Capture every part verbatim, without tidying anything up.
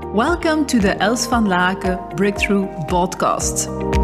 Welcome to the Els van Laken Breakthrough Podcast.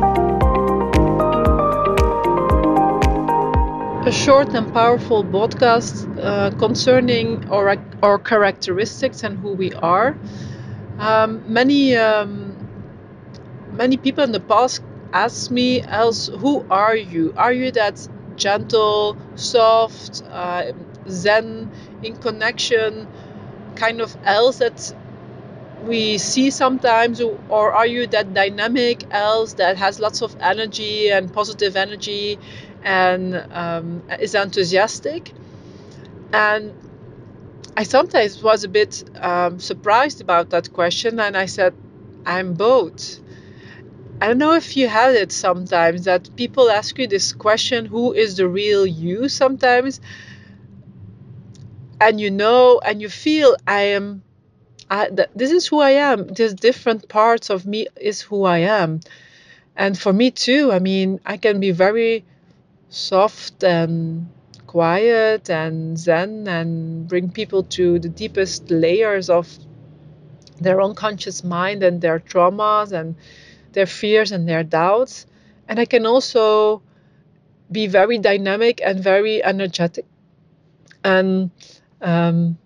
A short and powerful podcast uh, concerning our, our characteristics and who we are. Um, many um, many people in the past asked me, Els, who are you? Are you that gentle, soft, uh, zen, in connection kind of Els that we see sometimes, or are you that dynamic Els that has lots of energy and positive energy and um, is enthusiastic? And I sometimes was a bit um, surprised about that question, and I said, I'm both. I don't know if you had it sometimes that people ask you this question, who is the real you sometimes? And you know, and you feel I am I, th- this is who I am. There's different parts of me is who I am. And for me too, I mean, I can be very soft and quiet and zen and bring people to the deepest layers of their unconscious mind and their traumas and their fears and their doubts. And I can also be very dynamic and very energetic and um,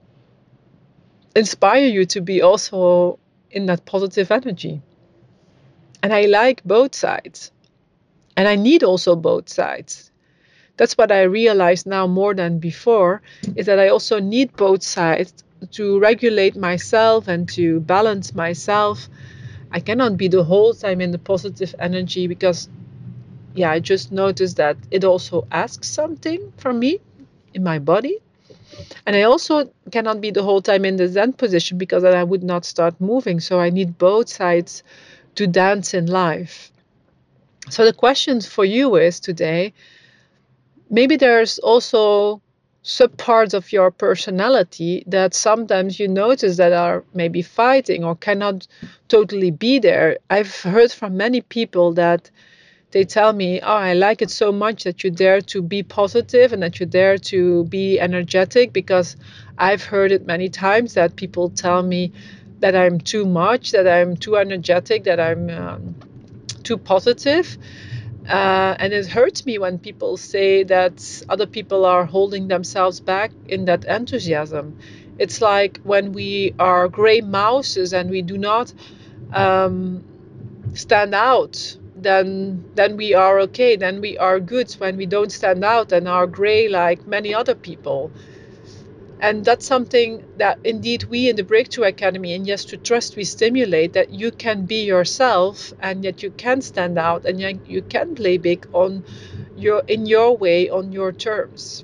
inspire you to be also in that positive energy. And I like both sides. And I need also both sides. That's what I realize now more than before, is that I also need both sides to regulate myself and to balance myself. I cannot be the whole time in the positive energy because, yeah, I just noticed that it also asks something from me in my body. And I also cannot be the whole time in the Zen position because then I would not start moving. So I need both sides to dance in life. So the question for you is today, maybe there's also subparts of your personality that sometimes you notice that are maybe fighting or cannot totally be there. I've heard from many people that they tell me, oh, I like it so much that you dare to be positive and that you dare to be energetic, because I've heard it many times that people tell me that I'm too much, that I'm too energetic, that I'm um, too positive. Uh, and it hurts me when people say that other people are holding themselves back in that enthusiasm. It's like when we are gray mouses and we do not um, stand out, then then we are okay, then we are good. When we don't stand out and are gray like many other people. And that's something that indeed we in the Breakthrough Academy and Yes to Trust, we stimulate, that you can be yourself and yet you can stand out and yet you can play big on your in your way, on your terms.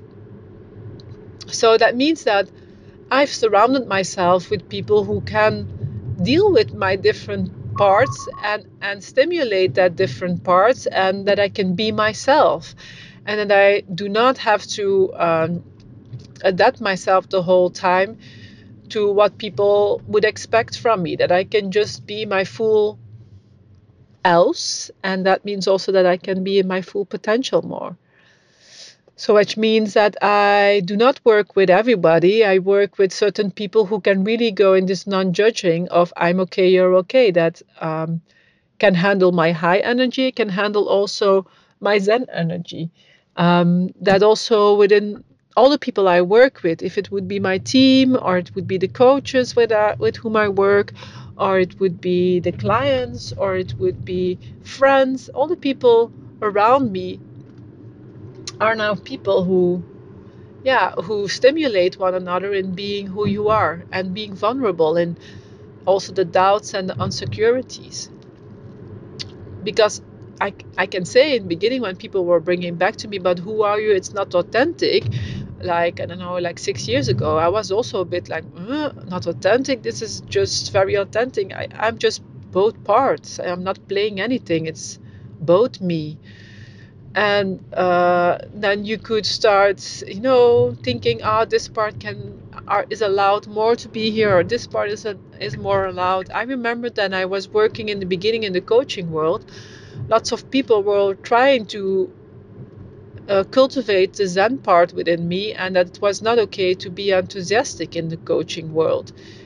So that means that I've surrounded myself with people who can deal with my different parts and, and stimulate that different parts, and that I can be myself, and that I do not have to um, adapt myself the whole time to what people would expect from me, that I can just be my full Els, and that means also that I can be in my full potential more. So which means that I do not work with everybody. I work with certain people who can really go in this non-judging of I'm okay, you're okay, that um, can handle my high energy, can handle also my Zen energy. Um, that also within all the people I work with, if it would be my team or it would be the coaches with, uh, with whom I work, or it would be the clients, or it would be friends, all the people around me are now people who yeah who stimulate one another in being who you are and being vulnerable, and also the doubts and the insecurities. Because I, I can say in the beginning, when people were bringing back to me, but who are you, it's not authentic, like I don't know, like six years ago, I was also a bit like uh, not authentic, this is just very authentic. I, I'm just both parts, I'm not playing anything, it's both me. And uh, then you could start, you know, thinking, ah, oh, this part can are, is allowed more to be here, or this part is a, is more allowed. I remember that I was working in the beginning in the coaching world. Lots of people were trying to uh, cultivate the Zen part within me, and that it was not okay to be enthusiastic in the coaching world.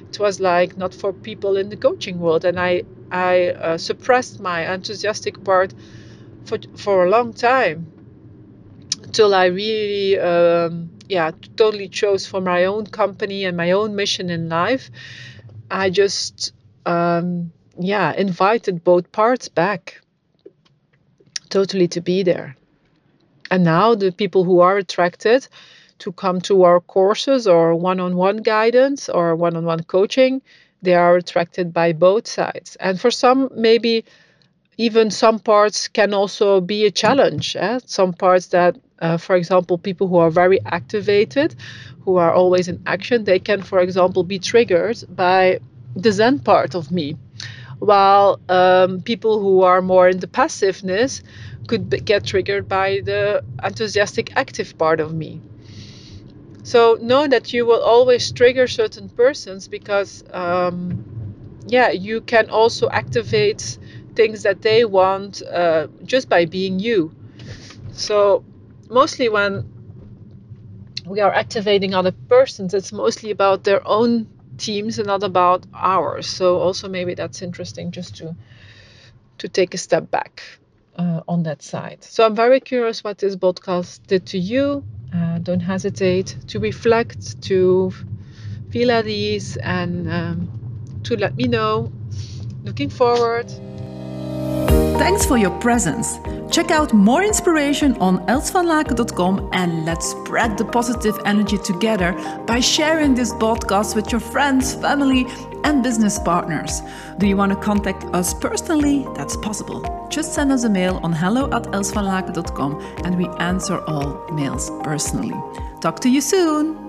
it was like not for people in the coaching world. And I, I uh, suppressed my enthusiastic part for, for a long time, till I really, um, yeah, totally chose for my own company and my own mission in life. I just, um, yeah, invited both parts back, totally to be there. And now the people who are attracted to come to our courses or one-on-one guidance or one-on-one coaching, they are attracted by both sides. And for some, maybe even some parts can also be a challenge. Eh? Some parts that, uh, for example, people who are very activated, who are always in action, they can, for example, be triggered by the Zen part of me. While um, people who are more in the passiveness could be, get triggered by the enthusiastic active part of me. So know that you will always trigger certain persons because, um, yeah, you can also activate things that they want uh, just by being you. So mostly when we are activating other persons, it's mostly about their own teams and not about ours. So also maybe that's interesting just to to take a step back uh, on that side. So I'm very curious what this podcast did to you. Uh, don't hesitate to reflect, to feel at ease, and um, to let me know. Looking forward. Thanks for your presence. Check out more inspiration on els van laken dot com and let's spread the positive energy together by sharing this podcast with your friends, family, and business partners. Do you want to contact us personally? That's possible. Just send us a mail on hello at els van laken dot com and we answer all mails personally. Talk to you soon.